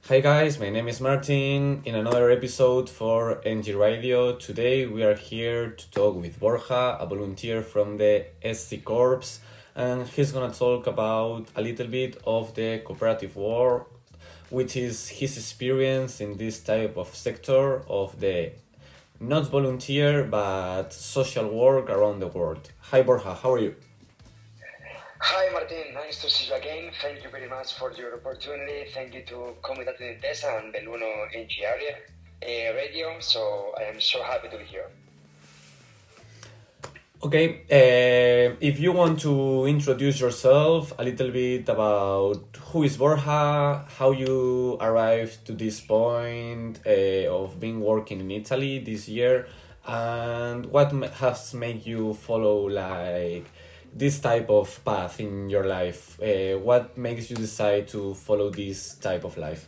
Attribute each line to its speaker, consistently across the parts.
Speaker 1: Hi guys, my name is Martin in another episode for NG Radio. Today we are here to talk with Borja, a volunteer from the SC Corps, and he's gonna talk about a little bit of the cooperative world, which is his experience in this type of sector of the not volunteer but social work around the world. Hi Borja, how are you?
Speaker 2: Hi Martin, nice to see you again. Thank you very much for your opportunity. Thank you to Comunità Intesa and Belluno NG area radio. So I am so happy to be here.
Speaker 1: Okay, if you want to introduce yourself a little bit about who is Borja, how you arrived to this point of being working in Italy this year, and what has made you follow this type of path in your life? What makes you decide to follow this type of life?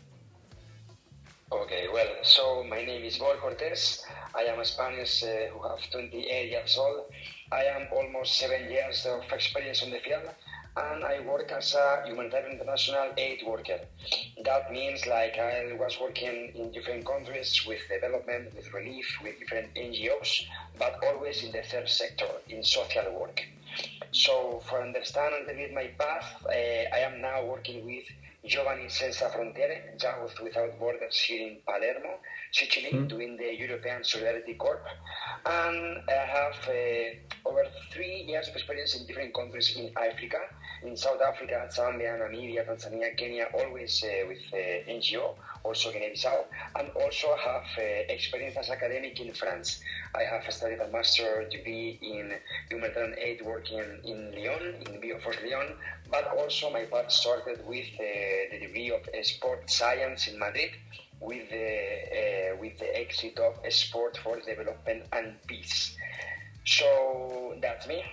Speaker 2: Okay, well, so my name is Borja Cortés. I am a Spanish who have 28 years old. I am almost 7 years of experience on the field, and I work as a humanitarian international aid worker. That means I was working in different countries with development, with relief, with different NGOs, but always in the third sector, in social work. So for understand a little bit my path, I am now working with Giovani Senza Frontiere, Youth Without Borders here in Palermo, Sicily, doing the European Solidarity Corps. And I have over 3 years of experience in different countries in Africa, in South Africa, Zambia, Namibia, Tanzania, Kenya, always with NGO, also Guinea-Bissau, and also have experience as academic in France. I have studied a master degree in humanitarian aid working in Lyon, in Bioforce Lyon, but also my path started with the degree of sport science in Madrid, with the exit of sport for development and peace. So that's me.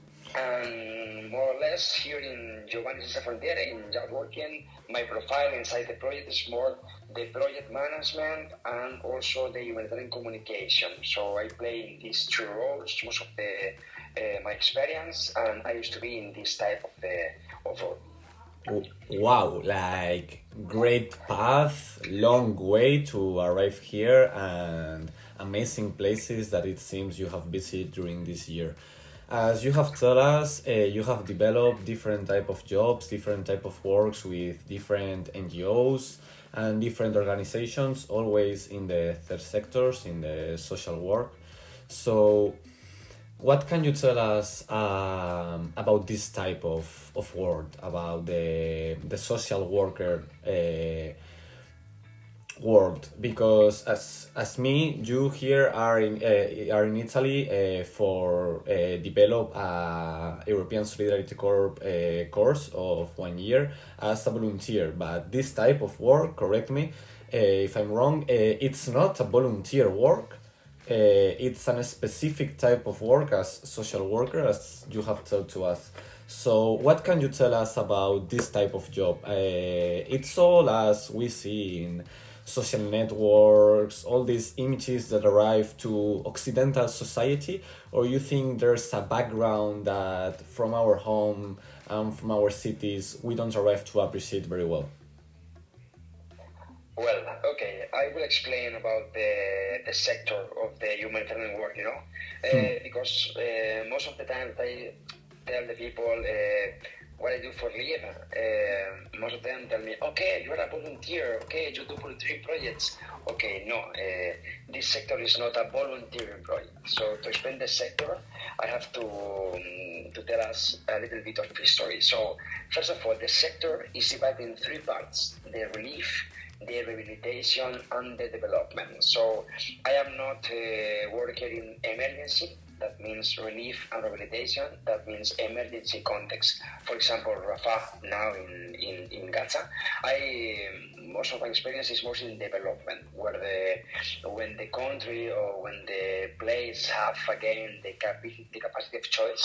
Speaker 2: And more or less here in Giovanni Senza Frontiere, in Youth Working, my profile inside the project is more the project management and also the humanitarian communication. So I play in these two roles most of my experience, and I used to be in this type of role.
Speaker 1: Wow, great path, long way to arrive here, and amazing places that it seems you have visited during this year. As you have told us, you have developed different type of jobs, different type of works with different NGOs and different organizations, always in the third sectors, in the social work. So what can you tell us about this type of work, about the social worker world? Because as me, you here are in Italy for develop a European Solidarity Corps course of 1 year as a volunteer. But this type of work, correct me if I'm wrong, it's not a volunteer work. It's a specific type of work as social worker, as you have told to us. So what can you tell us about this type of job? It's all as we see in social networks, all these images that arrive to Occidental society, or you think there's a background that from our home and from our cities we don't arrive to appreciate very well?
Speaker 2: Well, okay, I will explain about the sector of the humanitarian work, because most of the time I tell the people what I do for live. Most of them tell me, okay, you are a volunteer, okay, you do volunteering projects. Okay, no, this sector is not a volunteering project. So to explain the sector, I have to tell us a little bit of history. So first of all, the sector is divided in 3 parts: the relief, the rehabilitation, and the development. So I am not working in emergency. That means relief and rehabilitation. That means emergency context. For example, Rafah now in Gaza. Most of my experience is mostly in development, where when the country or when the place have again the capacity of choice,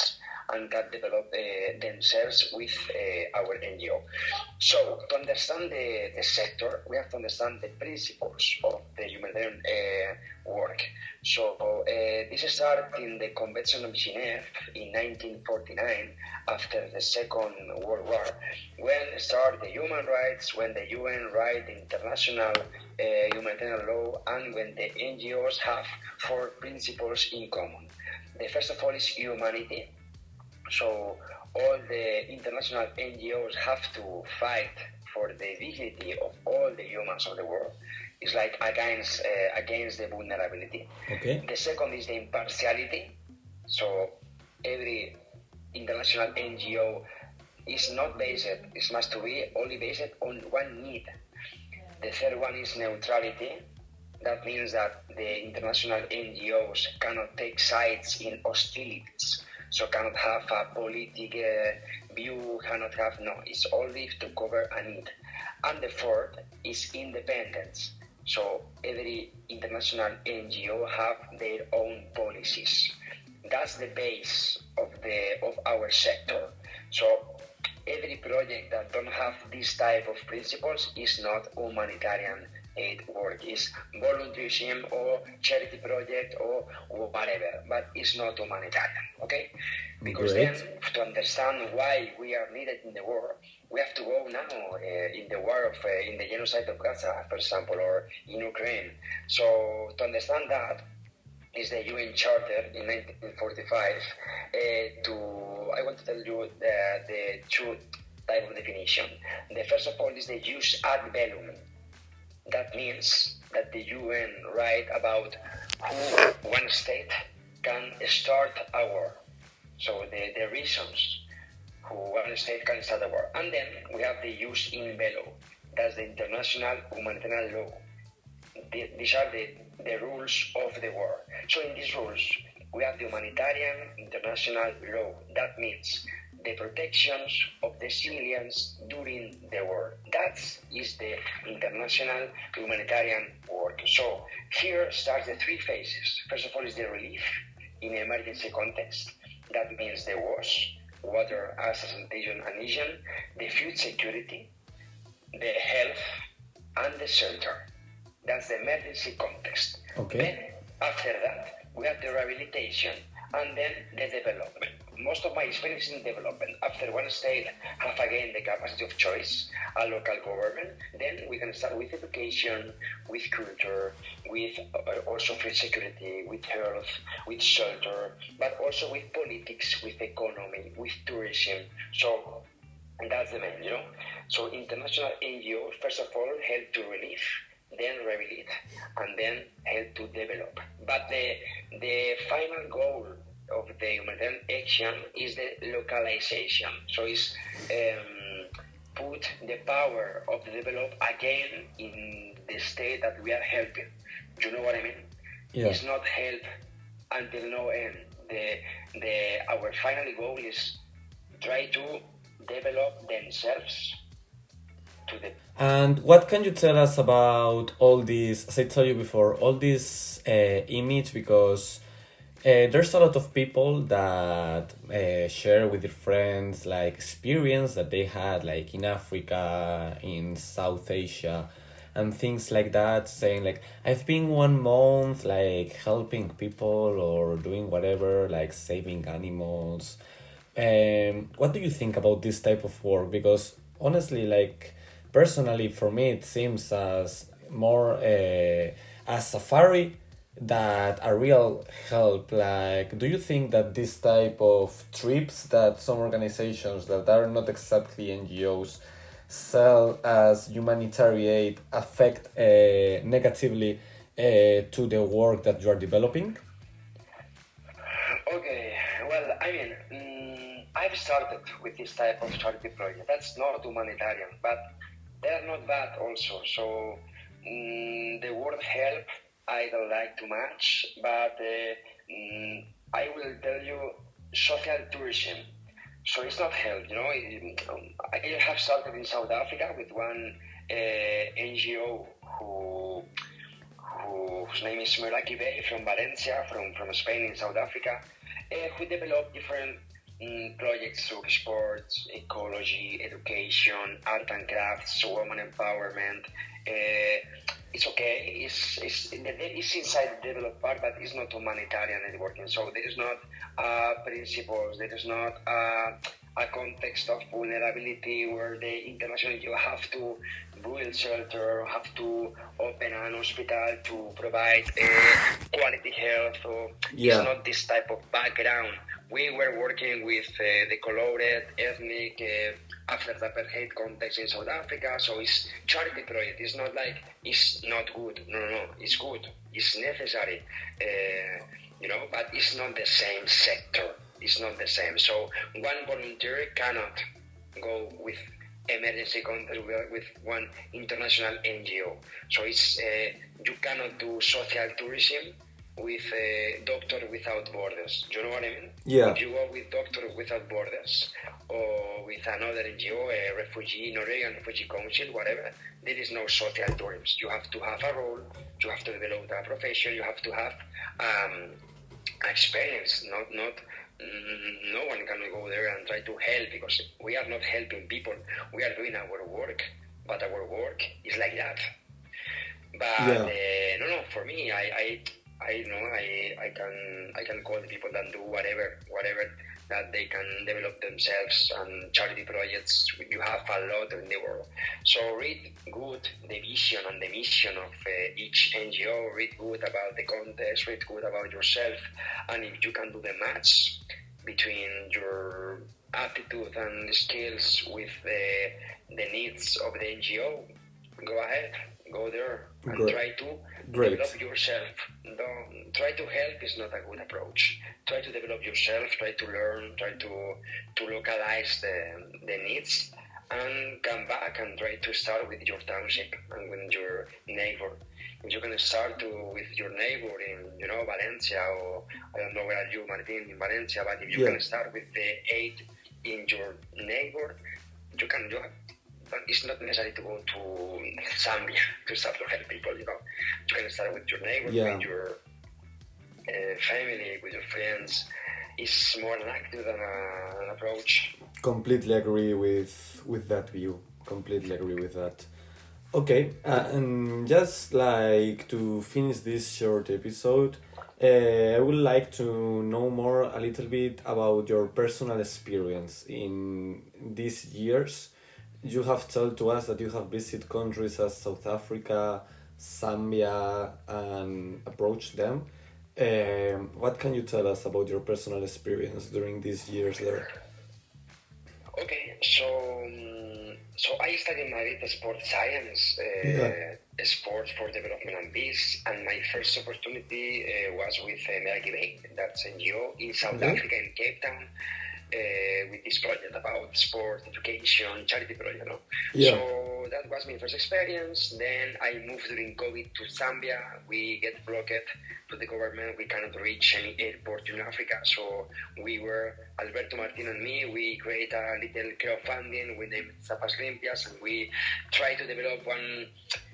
Speaker 2: and can develop themselves with our NGO. So to understand the sector, we have to understand the principles of the humanitarian work. So this started in the Convention of Geneva in 1949 after the Second World War, when started the human rights, when the UN write the international humanitarian law, and when the NGOs have four principles in common. The first of all is humanity. So all the international NGOs have to fight for the dignity of all the humans of the world. It's like against the vulnerability.
Speaker 1: Okay.
Speaker 2: The second is the impartiality. So every international NGO is not based, it must be only based on one need. The third one is neutrality. That means that the international NGOs cannot take sides in hostilities. So cannot have a political view, cannot have, no, it's only to cover a need. And the fourth is independence. So every international NGO have their own policies. That's the base of our sector. So every project that don't have this type of principles is not humanitarian aid work. Is volunteerism or charity project or whatever, but it's not humanitarian, okay? Because
Speaker 1: Great.
Speaker 2: then, to understand why we are needed in the war, we have to go now in the war of in the genocide of Gaza, for example, or in Ukraine. So to understand that is the UN Charter in 1945. I want to tell you the two type of definition. The first of all is the jus ad bellum. That means that the UN write about who one state can start a war. So the reasons who one state can start a war. And then we have the jus in bello. That's the international humanitarian law. These are the rules of the war. So in these rules, we have the humanitarian international law. That means the protections of the civilians during the war. That is the international humanitarian work. So here starts the three phases. First of all is the relief in emergency context. That means the wars, water, air, sanitation, and hygiene, the food security, the health, and the shelter. That's the emergency context.
Speaker 1: Okay.
Speaker 2: Then, after that, we have the rehabilitation and then the development. Most of my experience in development. After one state have again the capacity of choice, a local government, then we can start with education, with culture, with also food security, with health, with shelter, but also with politics, with economy, with tourism. So that's the main, So international NGOs, first of all, help to relieve, then rehabilitate, and then help to develop. But the final goal of the humanitarian action is the localization. So it's put the power of the develop again in the state that we are helping. Do you know what I mean?
Speaker 1: Yeah.
Speaker 2: It's not help until no end. Our final goal is try to develop themselves to the.
Speaker 1: And what can you tell us about all this, as I told you before, all this image, because there's a lot of people that share with their friends like experience that they had like in Africa, in South Asia, and things like that, saying like, I've been 1 month like helping people or doing whatever, like saving animals. What do you think about this type of work? Because honestly, like personally for me it seems as more a safari that a real help. Like, do you think that this type of trips that some organizations that are not exactly NGOs sell as humanitarian aid affect negatively to the work that you are developing?
Speaker 2: Okay, well, I mean, I've started with this type of charity project. That's not humanitarian, but they're not bad also. So the word help I don't like too much, but I will tell you social tourism. So it's not help, I have started in South Africa with one NGO whose name is Meraki Bay from Valencia, from Spain in South Africa, who developed different projects through sports, ecology, education, art and crafts, women empowerment. It's okay. It's inside the developed part, but it's not humanitarian networking. So there is not principles. There is not a context of vulnerability where the international you have to build shelter, have to open an hospital to provide quality health. So it's not this type of background. We were working with the colored ethnic after the apartheid context in South Africa, so it's charity project. It's not like it's not good. No, it's good. It's necessary, but it's not the same sector. It's not the same. So one volunteer cannot go with emergency contact with one international NGO. So it's you cannot do social tourism with Doctor Without Borders. Do you know what I mean?
Speaker 1: Yeah.
Speaker 2: If you go with Doctor Without Borders or with another NGO, a refugee, Norwegian Refugee Council, whatever, there is no social tourism. You have to have a role, you have to develop a profession, you have to have experience. No one can go there and try to help, because we are not helping people. We are doing our work, but our work is like that. But no, for me, I can call the people that do whatever that they can develop themselves and charity projects. You have a lot in the world. So read good the vision and the mission of each NGO. Read good about the context. Read good about yourself. And if you can do the match between your attitude and skills with the needs of the NGO, go ahead. Go there and try to develop yourself. Don't try to help is not a good approach. Try to develop yourself, try to learn, try to localize the needs, and come back and try to start with your township and with your neighbor. If you can start with your neighbor in Valencia, or I don't know where are you, Martin, in Valencia, but if you can start with the aid in your neighbor, you can do it. But it's not necessary to go to Zambia to start to help people, You can start with your neighbor, with your family, with your friends. It's more an active than an approach.
Speaker 1: Completely agree with that view. Completely agree with that. Okay, and just like to finish this short episode, I would like to know a little bit about your personal experience in these years. You have told to us that you have visited countries as South Africa, Zambia, and approached them. What can you tell us about your personal experience during these years there?
Speaker 2: Okay, so I studied Madrid sports science, sports for development and peace, and my first opportunity was with Merky Bay, that's NGO in South Africa, in Cape Town. With this project about sport, education, charity project, So that was my first experience. Then I moved during COVID to Zambia. We get blocked to the government. We cannot reach any airport in Africa. So we were, Alberto Martin and me, we create a little crowdfunding. We named Zapas Limpias, and we try to develop one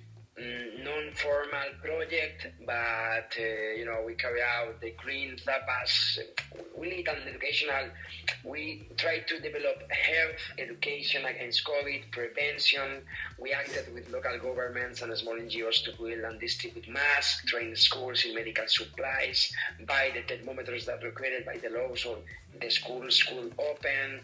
Speaker 2: non-formal project, but we carry out the green Zapas. We lead an educational. We try to develop health education against COVID prevention. We acted with local governments and small NGOs to build and distribute masks, train schools in medical supplies, buy the thermometers that were created by the law, so the schools could open.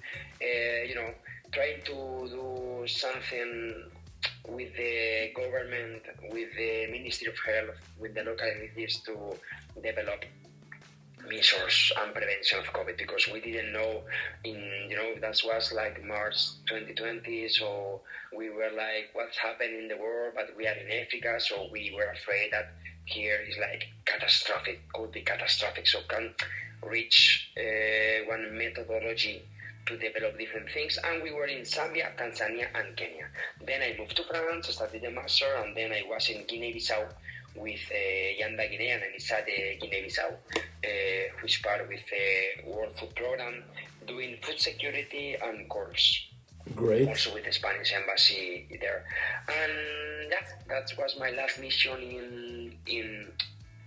Speaker 2: Trying to do something with the government, with the Ministry of Health, with the local entities to develop measures and prevention of COVID, because we didn't know that was like March 2020, so we were like, what's happening in the world, but we are in Africa, so we were afraid that here is like catastrophic, could be catastrophic, so can reach one methodology to develop different things, and we were in Zambia, Tanzania, and Kenya. Then I moved to France, studied the master, and then I was in Guinea-Bissau with Yanda Guinea and Anisade Guinea-Bissau, which part with the World Food Program, doing food security and course.
Speaker 1: Great.
Speaker 2: Also with the Spanish embassy there. And that was my last mission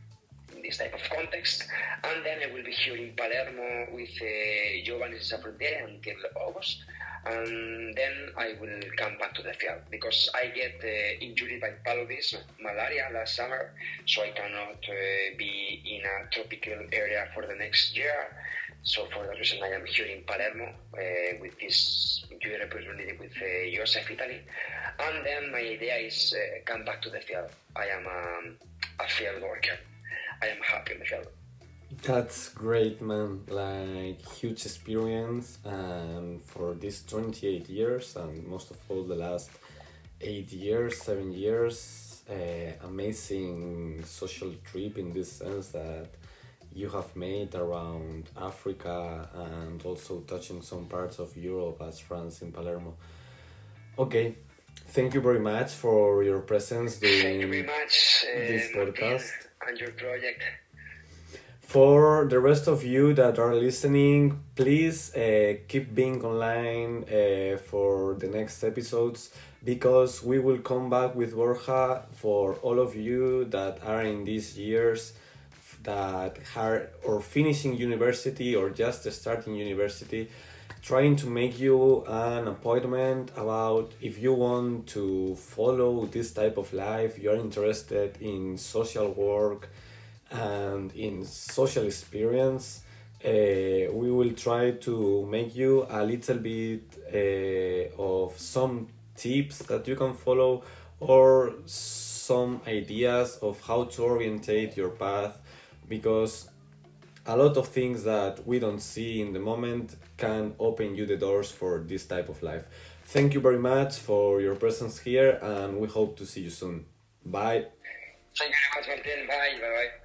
Speaker 2: this type of context. And then I will be here in Palermo with Giovanni Zaffrontiere until August. And then I will come back to the field because I get injured by paludism, malaria last summer, so I cannot be in a tropical area for the next year. So for that reason, I am here in Palermo with this good opportunity with Joseph Italy. And then my idea is come back to the field. I am a field worker. I am happy in the field.
Speaker 1: That's great, man. Like, huge experience, and for these 28 years, and most of all the last 8 years, 7 years, amazing social trip in this sense that you have made around Africa and also touching some parts of Europe as France in Palermo. Okay, thank you very much for your presence
Speaker 2: Thank you very
Speaker 1: during
Speaker 2: much,
Speaker 1: this
Speaker 2: Martin,
Speaker 1: podcast.
Speaker 2: and your project.
Speaker 1: For the rest of you that are listening, please keep being online for the next episodes because we will come back with Borja for all of you that are in these years that are or finishing university or just starting university, trying to make you an appointment about if you want to follow this type of life, you're interested in social work and in social experience. We will try to make you a little bit of some tips that you can follow or some ideas of how to orientate your path because a lot of things that we don't see in the moment can open you the doors for this type of life. Thank you very much for your presence here and we hope to see you soon. Bye.
Speaker 2: Thank you very much, Martin. Bye. Bye-bye.